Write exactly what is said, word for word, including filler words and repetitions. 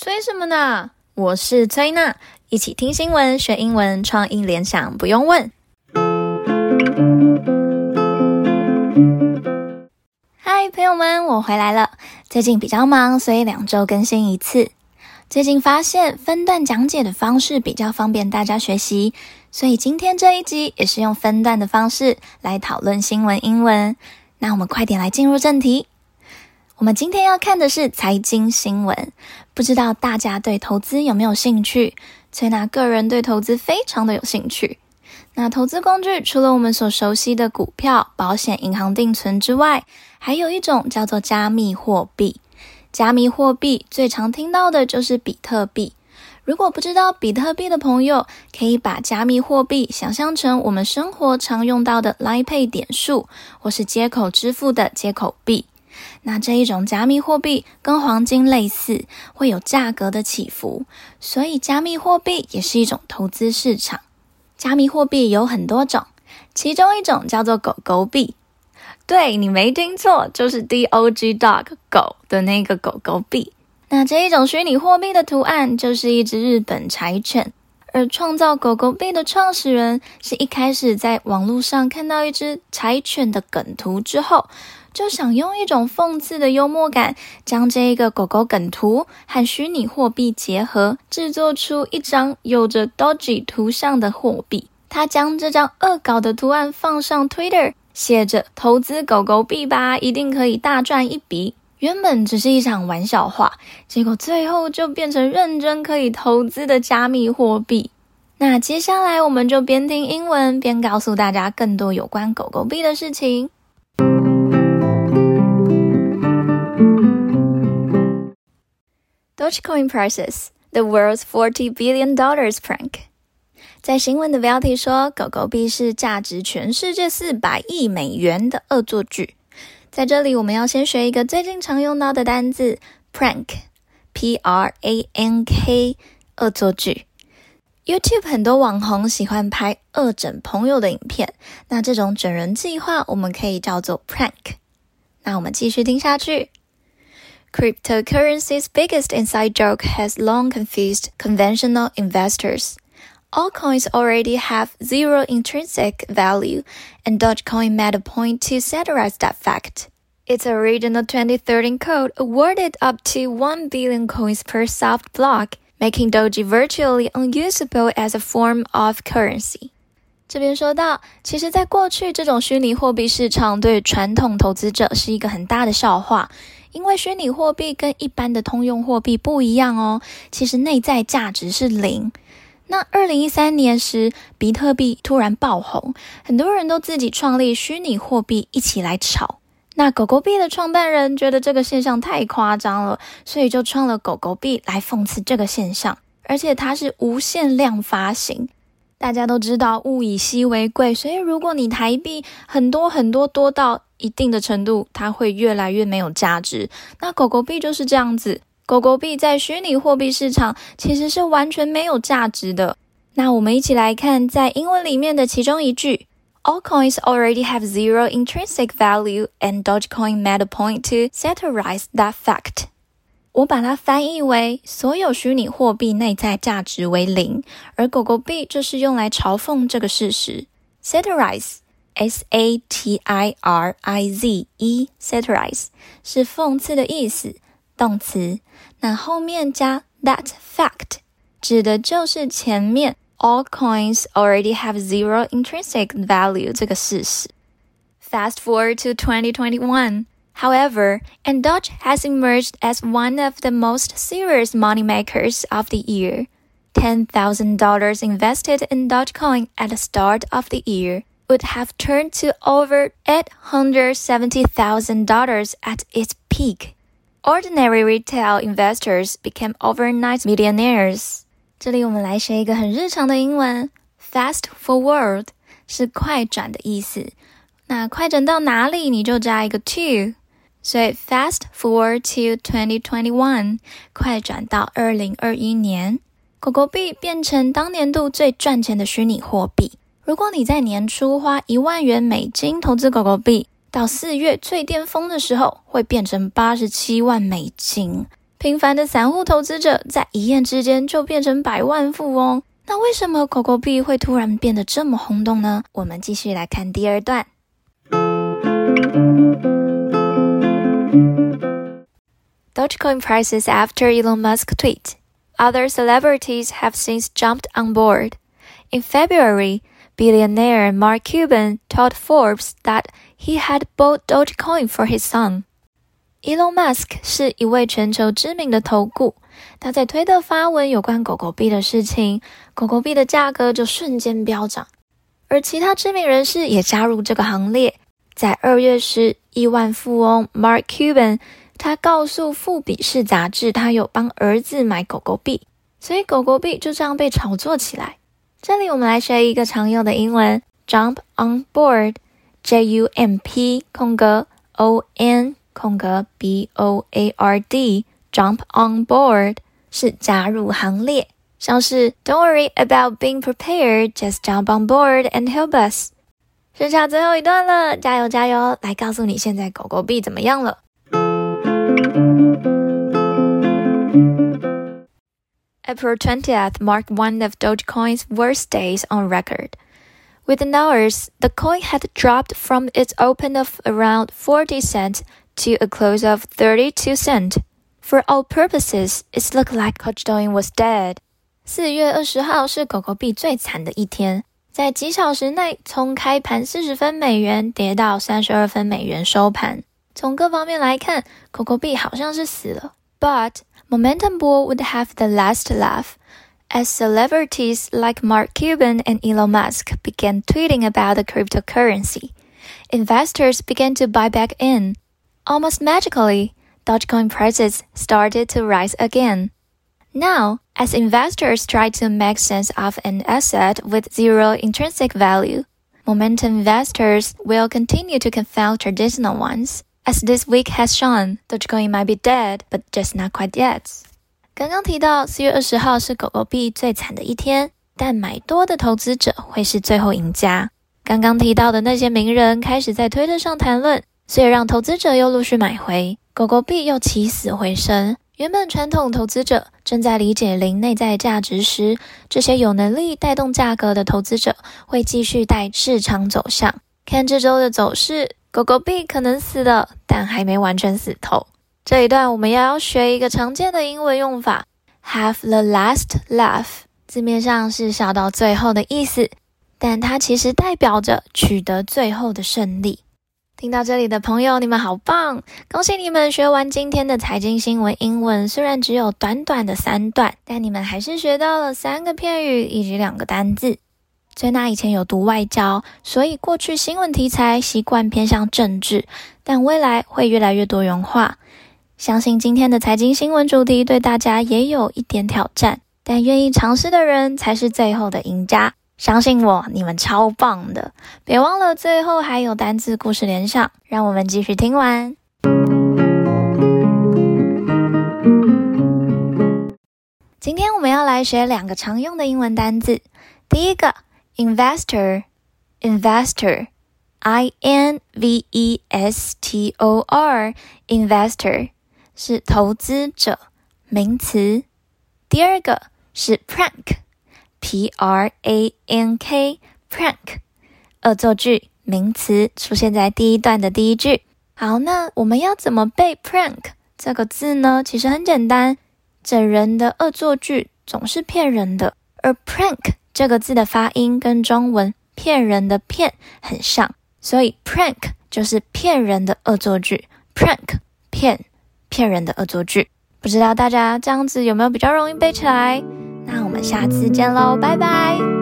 催什麼呢？我是崔娜，一起聽新聞學英文，創意聯想不用問。嗨，朋友們，我回來了。最近比較忙，所以兩周更新一次。最近發現分段講解的方式比較方便大家學習，所以今天這一集也是用分段的方式來討論新聞英文。那我們快點來進入正題。我們今天要看的是財經新聞，不知道大家對投資有沒有興趣？崔娜個人對投資非常的有興趣。那投資工具除了我們所熟悉的股票、保險、銀行定存之外，還有一種叫做加密貨幣。加密貨幣最常聽到的就是比特幣。如果不知道比特幣的朋友，可以把加密貨幣想象成我們生活常用到的 Line Pay 點數，或是街口支付的街口幣。那這一種加密貨幣跟黃金類似，會有價格的起伏，所以加密貨幣也是一種投資市場。加密貨幣有很多種，其中一種叫做狗狗幣。對，你沒聽錯，就是 D O G dog 狗的那個狗狗幣。那這一種虛擬貨幣的圖案就是一隻日本柴犬，而創造狗狗幣的創始人是一開始在網絡上看到一隻柴犬的梗圖之後，就想用一種諷刺的幽默感，將這一個狗狗梗圖和虛擬貨幣結合，製作出一張有着 Doji 圖像的貨幣。他將這張惡搞的圖案放上 Twitter， 寫着投資狗狗幣吧，一定可以大賺一筆。原本只是一場玩笑話，結果最後就變成認真可以投資的加密貨幣。那接下來我們就邊聽英文邊告訴大家更多有關狗狗幣的事情。Dogecoin presses the world's forty billion dollars prank。在新聞的標題說，狗狗幣是價值全世界四百億美元的惡作劇。在這裡，我們要先學一個最近常用到的單字 prank， P R A N K， 惡作劇。YouTube 很多網紅喜歡拍惡整朋友的影片，那這種整人計劃我們可以叫做 prank。那我們繼續聽下去。Cryptocurrency's biggest inside joke has long confused conventional investors. Altcoins already have zero intrinsic value, and Dogecoin made a point to satirize that fact. Its original twenty thirteen code awarded up to one billion coins per soft block, making Doge virtually unusable as a form of currency. 這邊說到，其實在過去這種虛擬貨幣市場對傳統投資者是一個很大的笑話，因為虛擬貨幣跟一般的通用貨幣不一樣哦，其實內在價值是零。那二零一三年時，比特幣突然爆紅，很多人都自己創立虛擬貨幣一起來炒。那狗狗幣的創辦人覺得這個現象太誇張了，所以就創了狗狗幣來諷刺這個現象，而且它是無限量發行。大家都知道物以稀為貴，所以如果你台幣很多很多多到一定的程度，它會越來越沒有價值。那狗狗幣就是這樣子，狗狗幣在虛擬貨幣市場其實是完全沒有價值的。那我們一起來看在英文裡面的其中一句 Altcoins already have zero intrinsic value, and Dogecoin made a point to satirize that fact. 我把它翻譯為所有虛擬貨幣內在價值為零，而狗狗幣就是用來嘲諷這個事實。Satirize S A T I R I Z E Satirize 是諷刺的意思，動詞。那後面加 that fact 指的就是前面 all coins already have zero intrinsic value 這個事實。Fast forward to twenty twenty-one.However, and Doge has emerged as one of the most serious moneymakers of the year. ten thousand dollars invested in Dogecoin at the start of the year would have turned to over eight hundred seventy thousand dollars at its peak. Ordinary retail investors became overnight millionaires. 這裡我們來學一個很日常的英文 ，fast forward 是快轉的意思。那快轉到哪裡，你就加一個 to。所以 fast forward to twenty twenty-one， 快轉到二零二一年，狗狗幣變成當年度最賺錢的虛擬貨幣。如果你在年初花一萬元美金投資狗狗幣，到四月最巔峰的時候會變成八十七萬美金， 平凡的散戶投資者在一夜之間就變成百萬富翁。那為什麼狗狗幣會突然變得這麼轟動呢？我們繼續來看第二段。Dogecoin prices after Elon Musk tweet. Other celebrities have since jumped on board. In February, billionaire Mark Cuban told Forbes that he had bought Dogecoin for his son. Elon Musk 是一位全球知名的投顧，他在推特發文有關狗狗幣的事情，狗狗幣的價格就瞬間飆漲，而其他知名人士也加入這個行列。在二月時，億萬富翁 Mark Cuban他告訴富比士雜誌，他有幫兒子買狗狗幣，所以狗狗幣就這樣被炒作起來。這裡我們來學一個常用的英文 ，jump on board， J U M P 空格 O N 空格 B O A R D，jump on board 是加入行列，像是 Don't worry about being prepared, just jump on board and help us。剩下最後一段了，加油加油！來告訴你現在狗狗幣怎麼樣了。April twentieth marked one of Dogecoin's worst days on record. Within hours, the coin had dropped from its open of around forty cents to a close of thirty-two cents. For all purposes, it looked like Dogecoin was dead. 四月二十號是狗狗幣最慘的一天，在幾小時內從開盤四十分美元跌到三十二分美元收盤。從各方面來看，狗狗幣好像是死了。But Momentum Bull would have the last laugh, as celebrities like Mark Cuban and Elon Musk began tweeting about the cryptocurrency. Investors began to buy back in. Almost magically, Dogecoin prices started to rise again. Now, as investors try to make sense of an asset with zero intrinsic value, momentum investors will continue to confound traditional ones. As this week has shown, Dogecoin might be dead, but just not quite yet. 剛剛提到四月二十號是狗狗幣最慘的一天，但買多的投資者會是最後贏家。剛剛提到的那些名人開始在推特上談論，所以讓投資者又陸續買回，狗狗幣又起死回生。原本傳統投資者正在理解零內在價值時，這些有能力帶動價格的投資者會繼續帶市場走向。看這週的走勢，狗狗幣可能死了，但還沒完全死透。這一段我們要學一個常見的英文用法 ，have the last laugh， 字面上是笑到最後的意思，但它其實代表着取得最後的勝利。聽到這裡的朋友，你們好棒！恭喜你們學完今天的財經新聞英文，雖然只有短短的三段，但你們還是學到了三個片語以及兩個單字。Jenna以前有讀外交，所以過去新聞題材習慣偏向政治，但未來會越來越多元化。相信今天的財經新聞主題對大家也有一點挑戰，但願意嘗試的人才是最後的贏家。相信我，你們超棒的！別忘了最後還有單字故事連上，讓我們繼續聽完。今天我們要來學兩個常用的英文單字，第一個 Investor, investor, I N V E S T O R, investor 是投資者，名詞。第二個是 prank, P R A N K, prank 惡作劇，名詞，出現在第一段的第一句。好，那我們要怎麼背 prank 這個字呢？其實很簡單，整人的惡作劇總是騙人的，而 prank這個字的發音跟中文騙人的騙很像，所以 prank 就是騙人的惡作劇 ，prank 騙騙人的惡作劇。不知道大家這樣子有沒有比較容易背起來？那我們下次見嘍，拜拜。